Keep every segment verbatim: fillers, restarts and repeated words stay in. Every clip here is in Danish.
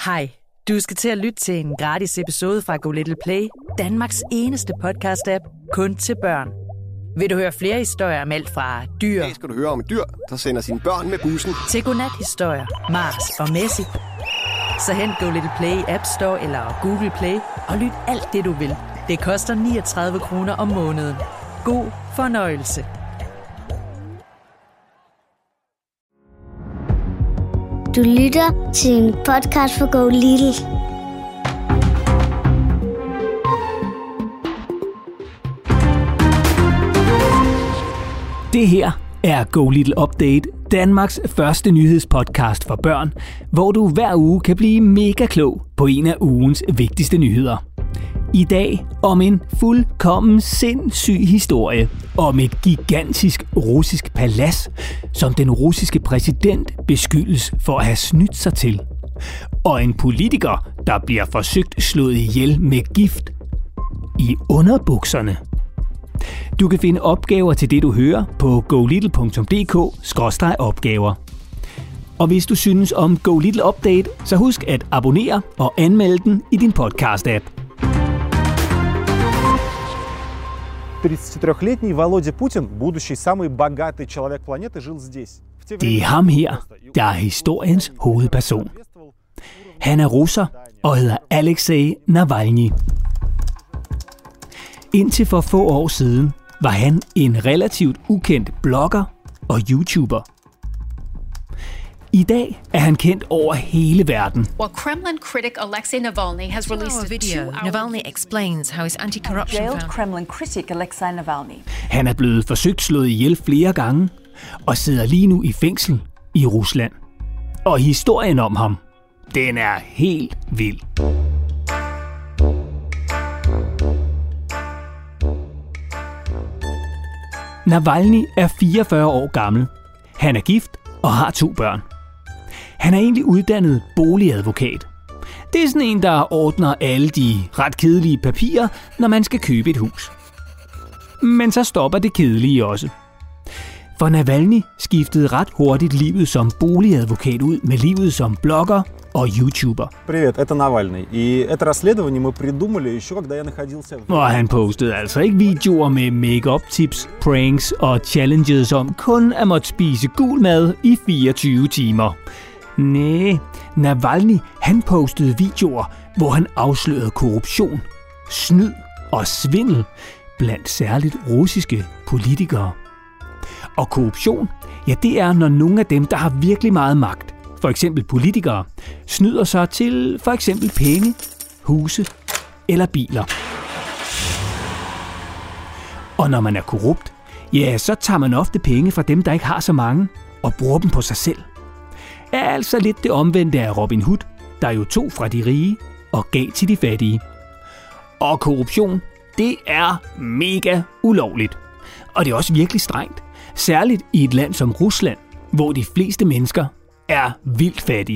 Hej, du skal til at lytte til en gratis episode fra Go Little Play, Danmarks eneste podcast-app, kun til børn. Vil du høre flere historier om alt fra dyr... Det skal du høre om et dyr, der sender sine børn med bussen. ...til godnat-historier, Mars og Messi. Så hent Go Little Play App Store eller Google Play og lyt alt det, du vil. Det koster niogtredive kroner om måneden. God fornøjelse. Du lytter til en podcast for Go Little. Det her er Go Little Update, Danmarks første nyhedspodcast for børn, hvor du hver uge kan blive mega klog på en af ugens vigtigste nyheder. I dag om en fuldkommen sindssyg historie om et gigantisk russisk palads, som den russiske præsident beskyldes for at have snydt sig til. Og en politiker, der bliver forsøgt slået ihjel med gift i underbukserne. Du kan finde opgaver til det, du hører på go little punktum d k skråstreg opgaver. Og hvis du synes om Go Little Update, så husk at abonnere og anmelde den i din podcast-app. тридцатитрёхлетний Володя Путин, будущий самый богатый человек планеты, жил здесь. Det er ham her, der er historiens hovedperson. Han er russer og hedder Alexei Navalny. Indtil for få år siden var han en relativt ukendt blogger og YouTuber. I dag er han kendt over hele verden. Well, Kremlin critic Alexei Navalny has released a video. Navalny explains how his anti-corruption Jailed Kremlin critic Alexei Navalny. Han er blevet forsøgt slået ihjel flere gange og sidder lige nu i fængsel i Rusland. Og historien om ham, den er helt vild. Navalny er fireogfyrre år gammel. Han er gift og har to børn. Han er egentlig uddannet boligadvokat. Det er sådan en, der ordner alle de ret kedelige papirer, når man skal købe et hus. Men så stopper det kedelige også. For Navalny skiftede ret hurtigt livet som boligadvokat ud med livet som blogger og YouTuber. Привет, это Навальный. И это расследование мы придумали еще, когда я находился в... Og han postede altså ikke videoer med make-up tips, pranks og challenges om kun at måtte spise gul mad i fireogtyve timer. Næh, Navalny han postede videoer, hvor han afslørede korruption, snyd og svindel blandt særligt russiske politikere. Og korruption, ja det er, når nogle af dem, der har virkelig meget magt, for eksempel politikere, snyder sig til for eksempel penge, huse eller biler. Og når man er korrupt, ja, så tager man ofte penge fra dem, der ikke har så mange, og bruger dem på sig selv. Er altså lidt det omvendte af Robin Hood, der jo tog fra de rige og gav til de fattige. Og korruption, det er mega ulovligt. Og det er også virkelig strengt. Særligt i et land som Rusland, hvor de fleste mennesker er vildt fattige.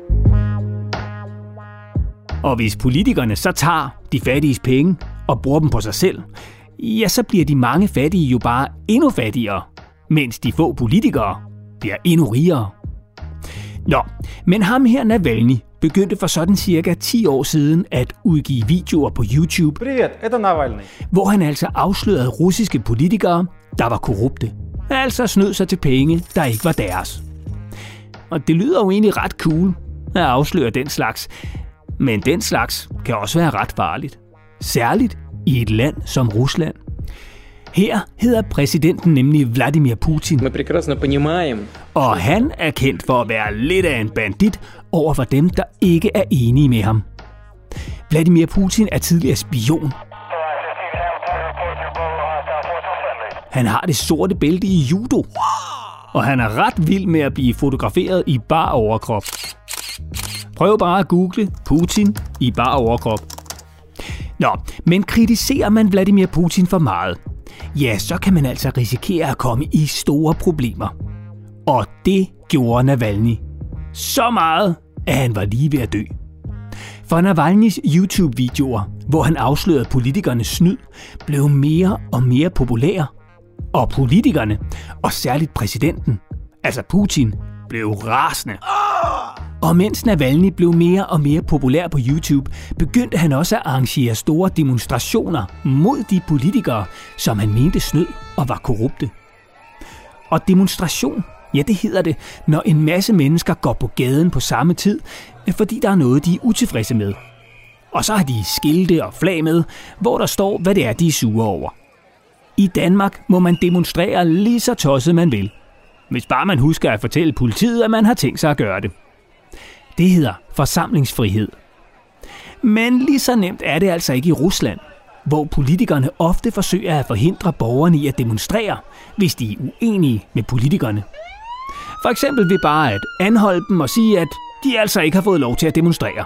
Og hvis politikerne så tager de fattiges penge og bruger dem på sig selv, ja, så bliver de mange fattige jo bare endnu fattigere, mens de få politikere bliver endnu rigere. Nå, men ham her Navalny begyndte for sådan cirka ti år siden at udgive videoer på YouTube, Привет, это Навальный. hvor han altså afslørede russiske politikere, der var korrupte. Altså snød sig til penge, der ikke var deres. Og det lyder jo egentlig ret cool at afsløre den slags. Men den slags kan også være ret farligt. Særligt i et land som Rusland. Her hedder præsidenten nemlig Vladimir Putin. Og han er kendt for at være lidt af en bandit over for dem, der ikke er enige med ham. Vladimir Putin er tidligere spion. Han har det sorte bælte i judo. Og han er ret vild med at blive fotograferet i bar overkrop. Prøv bare at google Putin i bar overkrop. Nå, men kritiserer man Vladimir Putin for meget, ja, så kan man altså risikere at komme i store problemer. Og det gjorde Navalny. Så meget, at han var lige ved at dø. For Navalnys YouTube-videoer, hvor han afslørede politikernes snyd, blev mere og mere populære. Og politikerne, og særligt præsidenten, altså Putin, blev rasende. Og mens Navalny blev mere og mere populær på YouTube, begyndte han også at arrangere store demonstrationer mod de politikere, som han mente snød og var korrupte. Og demonstration, ja det hedder det, når en masse mennesker går på gaden på samme tid, fordi der er noget, de er utilfredse med. Og så har de skilte og flag med, hvor der står, hvad det er, de er sure over. I Danmark må man demonstrere lige så tosset man vil, hvis bare man husker at fortælle politiet, at man har tænkt sig at gøre det. Det hedder forsamlingsfrihed. Men lige så nemt er det altså ikke i Rusland, hvor politikerne ofte forsøger at forhindre borgerne i at demonstrere, hvis de er uenige med politikerne. For eksempel ved bare at anholde dem og sige, at de altså ikke har fået lov til at demonstrere.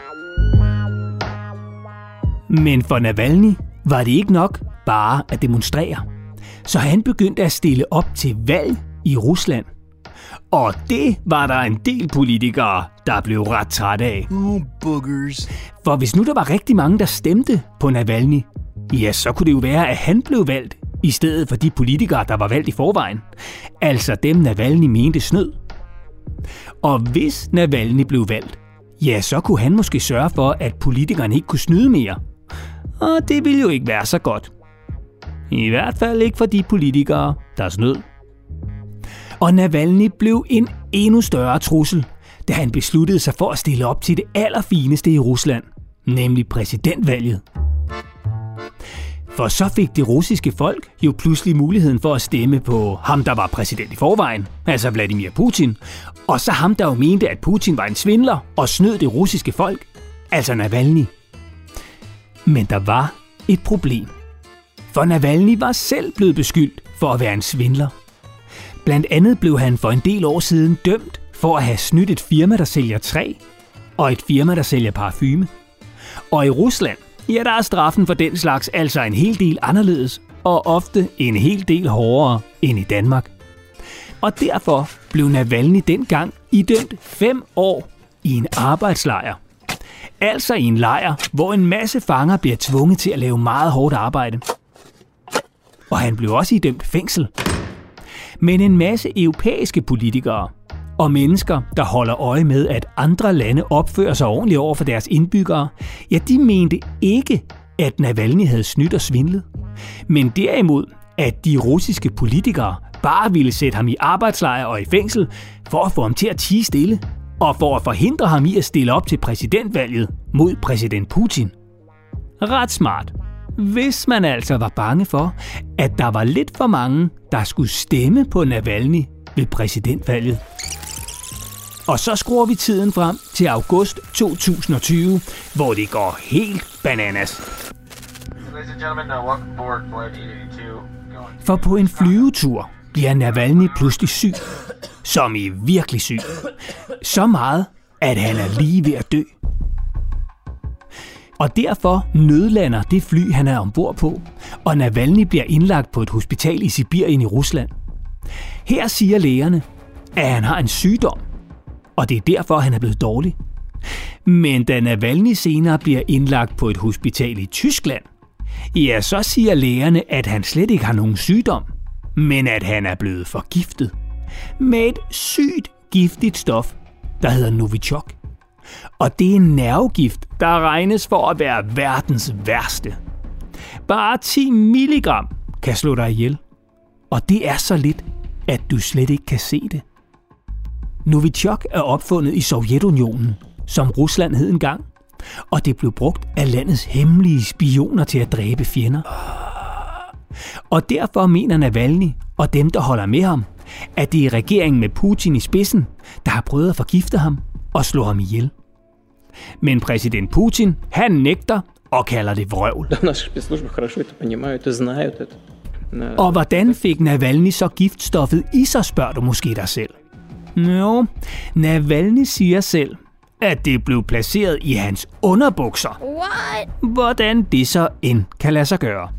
Men for Navalny var det ikke nok bare at demonstrere. Så han begyndte at stille op til valg i Rusland. Og det var der en del politikere, der blev ret trætte af. Oh, boogers. For hvis nu der var rigtig mange, der stemte på Navalny, ja, så kunne det jo være, at han blev valgt, i stedet for de politikere, der var valgt i forvejen. Altså dem, Navalny mente snød. Og hvis Navalny blev valgt, ja, så kunne han måske sørge for, at politikerne ikke kunne snyde mere. Og det ville jo ikke være så godt. I hvert fald ikke for de politikere, der snød. Og Navalny blev en endnu større trussel, da han besluttede sig for at stille op til det allerfineste i Rusland, nemlig præsidentvalget. For så fik det russiske folk jo pludselig muligheden for at stemme på ham, der var præsident i forvejen, altså Vladimir Putin, og så ham, der jo mente, at Putin var en svindler og snød det russiske folk, altså Navalny. Men der var et problem. For Navalny var selv blevet beskyldt for at være en svindler. Blandt andet blev han for en del år siden dømt for at have snydt et firma, der sælger træ, og et firma, der sælger parfume. Og i Rusland, ja, der er straffen for den slags altså en hel del anderledes, og ofte en hel del hårdere end i Danmark. Og derfor blev Navalny dengang idømt fem år i en arbejdslejr. Altså i en lejr, hvor en masse fanger bliver tvunget til at lave meget hårdt arbejde. Og han blev også idømt fængsel. Men en masse europæiske politikere og mennesker, der holder øje med, at andre lande opfører sig ordentligt over for deres indbyggere, ja, de mente ikke, at Navalny havde snydt og svindlet. Men derimod, at de russiske politikere bare ville sætte ham i arbejdslejr og i fængsel for at få ham til at tie stille, og for at forhindre ham i at stille op til præsidentvalget mod præsident Putin. Ret smart. Hvis man altså var bange for, at der var lidt for mange, der skulle stemme på Navalny ved præsidentvalget. Og så skruer vi tiden frem til august to tusind og tyve, hvor det går helt bananas. For på en flyvetur bliver Navalny pludselig syg, som i virkelig syg. Så meget, at han er lige ved at dø. Og derfor nødlander det fly, han er ombord på, og Navalny bliver indlagt på et hospital i Sibirien i Rusland. Her siger lægerne, at han har en sygdom, og det er derfor, han er blevet dårlig. Men da Navalny senere bliver indlagt på et hospital i Tyskland, ja, så siger lægerne, at han slet ikke har nogen sygdom, men at han er blevet forgiftet med et sygt giftigt stof, der hedder Novichok. Og det er en nervegift, der regnes for at være verdens værste. Bare ti milligram kan slå dig ihjel. Og det er så lidt, at du slet ikke kan se det. Novichok er opfundet i Sovjetunionen, som Rusland hed engang. Og det blev brugt af landets hemmelige spioner til at dræbe fjender. Og derfor mener Navalny og dem, der holder med ham, at det er regeringen med Putin i spidsen, der har prøvet at forgifte ham og slå ham ihjel. Men præsident Putin, han nægter og kalder det vrøvl. Og hvordan fik Navalny så giftstoffet i sig, spørger du måske dig selv. Jo, Navalny siger selv, at det blev placeret i hans underbukser. What? Hvordan det så end kan lade sig gøre.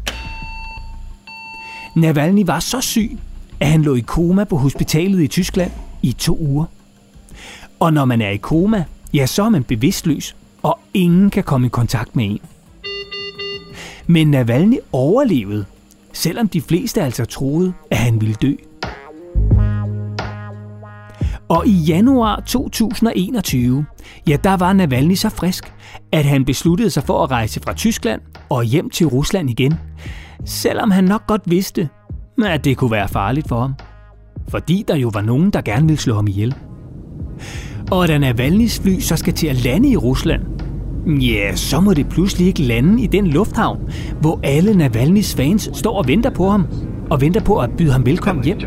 Navalny var så syg, at han lå i koma på hospitalet i Tyskland i to uger. Og når man er i koma, ja, så er man bevidstløs, og ingen kan komme i kontakt med en. Men Navalny overlevede, selvom de fleste altså troede, at han ville dø. Og i januar to tusind og enogtyve, ja, der var Navalny så frisk, at han besluttede sig for at rejse fra Tyskland og hjem til Rusland igen. Selvom han nok godt vidste, at det kunne være farligt for ham. Fordi der jo var nogen, der gerne ville slå ham ihjel. Og da Navalnys fly så skal til at lande i Rusland, ja, så må det pludselig ikke lande i den lufthavn, hvor alle Navalnys fans står og venter på ham, og venter på at byde ham velkommen hjem.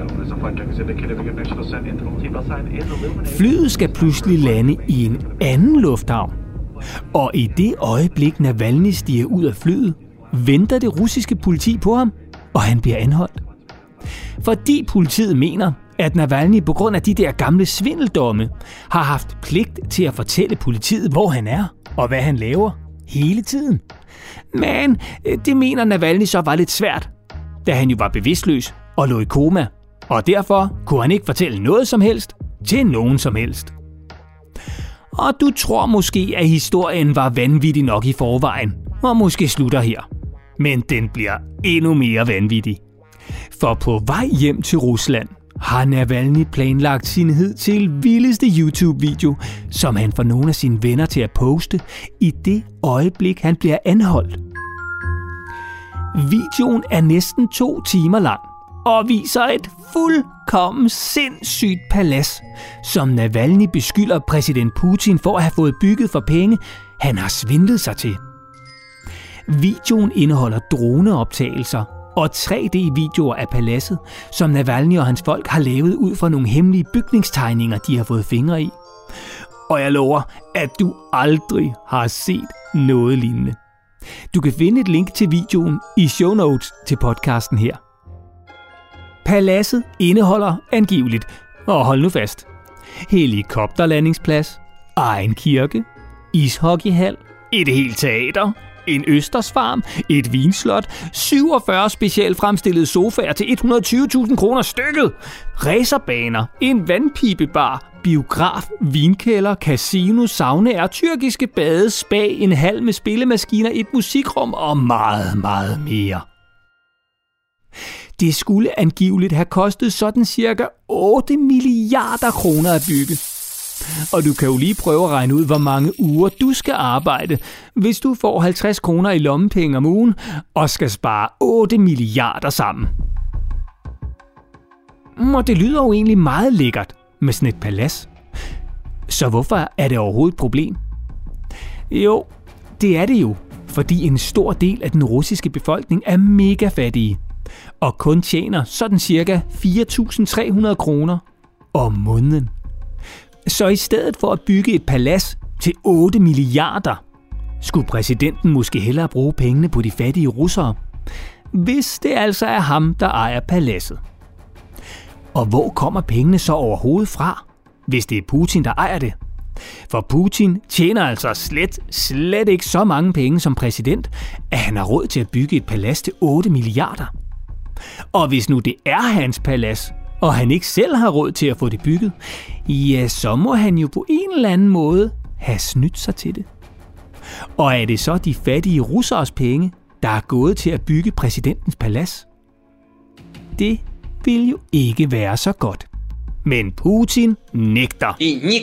Flyet skal pludselig lande i en anden lufthavn, og i det øjeblik Navalny stiger ud af flyet, venter det russiske politi på ham, og han bliver anholdt. Fordi politiet mener, at Navalny på grund af de der gamle svindeldomme har haft pligt til at fortælle politiet, hvor han er og hvad han laver hele tiden. Men det mener Navalny så var lidt svært, da han jo var bevidstløs og lå i koma, og derfor kunne han ikke fortælle noget som helst til nogen som helst. Og du tror måske, at historien var vanvittig nok i forvejen, og måske slutter her. Men den bliver endnu mere vanvittig. For på vej hjem til Rusland har Navalny planlagt sin hidtil vildeste YouTube-video, som han får nogle af sine venner til at poste i det øjeblik, han bliver anholdt. Videoen er næsten to timer lang og viser et fuldkommen sindssygt palads, som Navalny beskylder præsident Putin for at have fået bygget for penge, han har svindlet sig til. Videoen indeholder droneoptagelser og tre D-videoer af paladset, som Navalny og hans folk har lavet ud fra nogle hemmelige bygningstegninger, de har fået fingre i. Og jeg lover, at du aldrig har set noget lignende. Du kan finde et link til videoen i show notes til podcasten her. Paladset indeholder angiveligt, og hold nu fast, helikopterlandingsplads, egen kirke, ishockeyhal, et helt teater, en østersfarm, et vinslot, syvogfyrre specielt fremstillede sofaer til et hundrede og tyve tusind kroner stykket, racerbaner, en vandpibebar, biograf, vinkælder, casino, saunaer, tyrkiske bade, spa, en hal med spillemaskiner, et musikrum og meget, meget mere. Det skulle angiveligt have kostet sådan cirka otte milliarder kroner at bygge. Og du kan jo lige prøve at regne ud, hvor mange uger du skal arbejde, hvis du får halvtreds kroner i lommepenge om ugen og skal spare otte milliarder sammen. Og det lyder jo egentlig meget lækkert med sådan et palads. Så hvorfor er det overhovedet et problem? Jo, det er det jo, fordi en stor del af den russiske befolkning er mega fattige og kun tjener sådan cirka fire tusind tre hundrede kroner om måneden. Så i stedet for at bygge et palads til otte milliarder, skulle præsidenten måske hellere bruge pengene på de fattige russere, hvis det altså er ham, der ejer paladset. Og hvor kommer pengene så overhovedet fra, hvis det er Putin, der ejer det? For Putin tjener altså slet, slet ikke så mange penge som præsident, at han har råd til at bygge et palads til otte milliarder. Og hvis nu det er hans palads, og han ikke selv har råd til at få det bygget, ja, så må han jo på en eller anden måde have snydt sig til det. Og er det så de fattige russeres penge, der er gået til at bygge præsidentens palads? Det vil jo ikke være så godt. Men Putin nægter.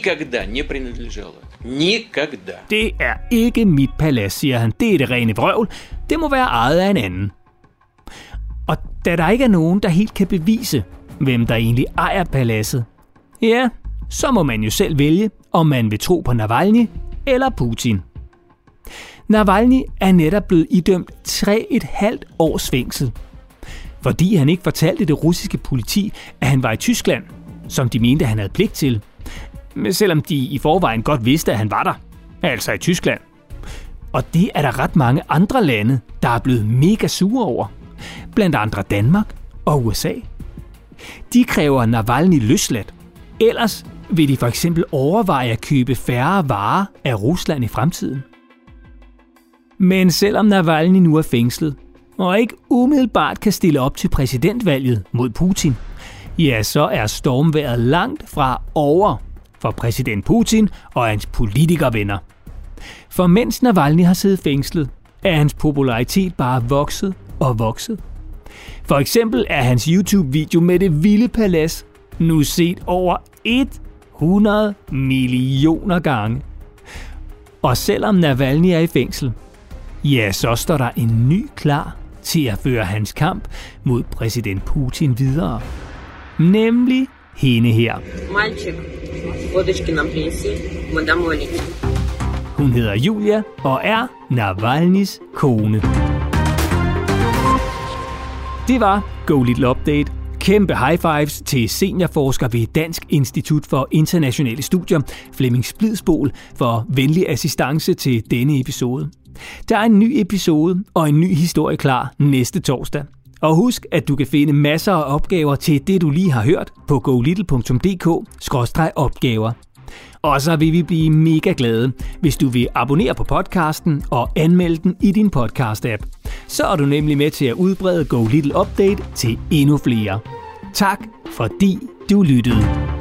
Det er ikke mit palads, siger han. Det er det rene vrøvl. Det må være ejet af en anden. Og da der ikke er nogen, der helt kan bevise, hvem der egentlig ejer paladset, ja, så må man jo selv vælge, om man vil tro på Navalny eller Putin. Navalny er netop blevet idømt tre et halvt års fængsel, fordi han ikke fortalte det russiske politi, at han var i Tyskland, som de mente, han havde pligt til, selvom de i forvejen godt vidste, at han var der, altså i Tyskland. Og det er der ret mange andre lande, der er blevet mega sure over, blandt andre Danmark og U S A. De kræver Navalny løsladt, ellers vil de for eksempel overveje at købe færre varer af Rusland i fremtiden. Men selvom Navalny nu er fængslet, og ikke umiddelbart kan stille op til præsidentvalget mod Putin, ja, så er stormvejret langt fra over for præsident Putin og hans politikervenner. For mens Navalny har siddet fængslet, er hans popularitet bare vokset og vokset. For eksempel er hans YouTube-video med det vilde palads nu set over hundrede millioner gange. Og selvom Navalny er i fængsel, ja, så står der en ny klar til at føre hans kamp mod præsident Putin videre. Nemlig hende her. Hun hedder Julia og er Navalnys kone. Det var Go Little Update. Kæmpe high fives til seniorforsker ved Dansk Institut for Internationale Studier, Flemming Splidsbol, for venlig assistance til denne episode. Der er en ny episode og en ny historie klar næste torsdag. Og husk, at du kan finde masser af opgaver til det, du lige har hørt på go little punktum d k skråstreg opgaver. Og så vil vi blive mega glade, hvis du vil abonnere på podcasten og anmelde den i din podcast-app. Så er du nemlig med til at udbrede Go Little Update til endnu flere. Tak fordi du lyttede.